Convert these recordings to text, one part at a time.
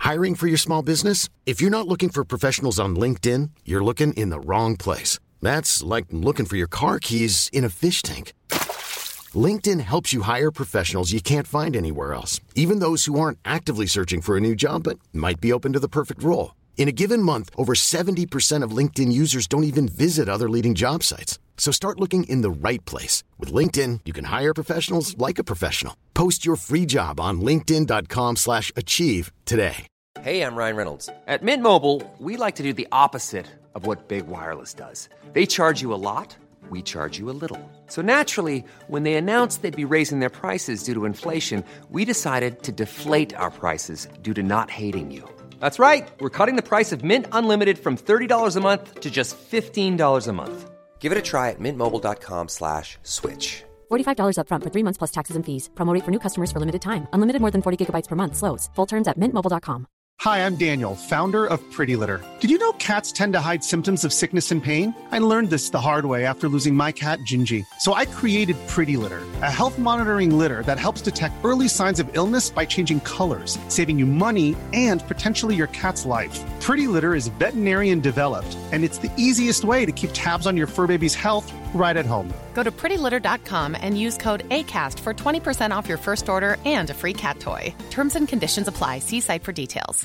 Hiring for your small business? If you're not looking for professionals on LinkedIn, you're looking in the wrong place. That's like looking for your car keys in a fish tank. LinkedIn helps you hire professionals you can't find anywhere else, even those who aren't actively searching for a new job but might be open to the perfect role. In a given month, over 70% of LinkedIn users don't even visit other leading job sites. So start looking in the right place. With LinkedIn, you can hire professionals like a professional. Post your free job on linkedin.com/achieve today. Hey, I'm Ryan Reynolds. At Mint Mobile, we like to do the opposite of what Big Wireless does. They charge you a lot, we charge you a little. So naturally, when they announced they'd be raising their prices due to inflation, we decided to deflate our prices due to not hating you. That's right. We're cutting the price of Mint Unlimited from $30 a month to just $15 a month. Give it a try at mintmobile.com/switch. $45 up front for 3 months plus taxes and fees. Promo rate for new customers for limited time. Unlimited more than 40 gigabytes per month. Slows full terms at mintmobile.com. Hi, I'm Daniel, founder of Pretty Litter. Did you know cats tend to hide symptoms of sickness and pain? I learned this the hard way after losing my cat, Gingy. So I created Pretty Litter, a health monitoring litter that helps detect early signs of illness by changing colors, saving you money and potentially your cat's life. Pretty Litter is veterinarian developed, and it's the easiest way to keep tabs on your fur baby's health right at home. Go to prettylitter.com and use code ACAST for 20% off your first order and a free cat toy. Terms and conditions apply. See site for details.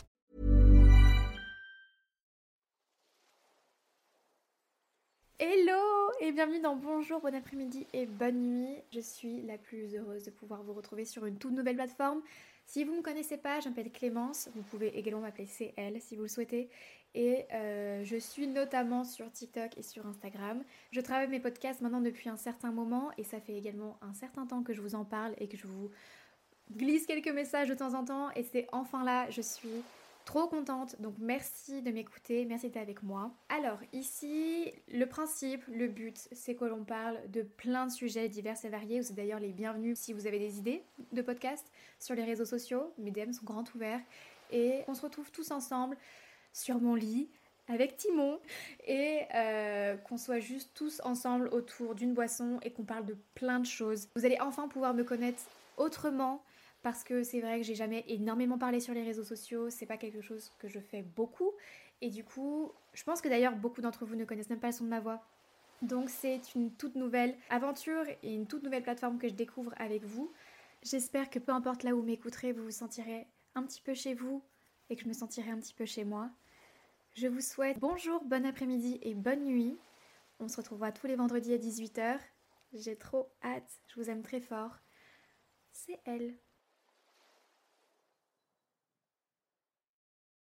Hello et bienvenue dans Bonjour, bon après-midi et bonne nuit. Je suis la plus heureuse de pouvoir vous retrouver sur une toute nouvelle plateforme. Si vous ne me connaissez pas, je m'appelle Clémence, vous pouvez également m'appeler CL si vous le souhaitez. Et je suis notamment sur TikTok et sur Instagram. Je travaille mes podcasts maintenant depuis un certain moment et ça fait également un certain temps que je vous en parle et que je vous glisse quelques messages de temps en temps. Et c'est enfin là, je suis trop contente, donc merci de m'écouter, merci d'être avec moi. Alors ici, le principe, le but, c'est que l'on parle de plein de sujets divers et variés. Vous êtes d'ailleurs les bienvenus si vous avez des idées de podcasts sur les réseaux sociaux. Mes DM sont grands ouverts et on se retrouve tous ensemble sur mon lit avec Timon et qu'on soit juste tous ensemble autour d'une boisson et qu'on parle de plein de choses. Vous allez enfin pouvoir me connaître autrement. Parce que c'est vrai que j'ai jamais énormément parlé sur les réseaux sociaux, c'est pas quelque chose que je fais beaucoup. Et du coup, je pense que d'ailleurs beaucoup d'entre vous ne connaissent même pas le son de ma voix. Donc c'est une toute nouvelle aventure et une toute nouvelle plateforme que je découvre avec vous. J'espère que peu importe là où vous m'écouterez, vous vous sentirez un petit peu chez vous et que je me sentirai un petit peu chez moi. Je vous souhaite bonjour, bon après-midi et bonne nuit. On se retrouvera tous les vendredis à 18h. J'ai trop hâte, je vous aime très fort. C'est elle.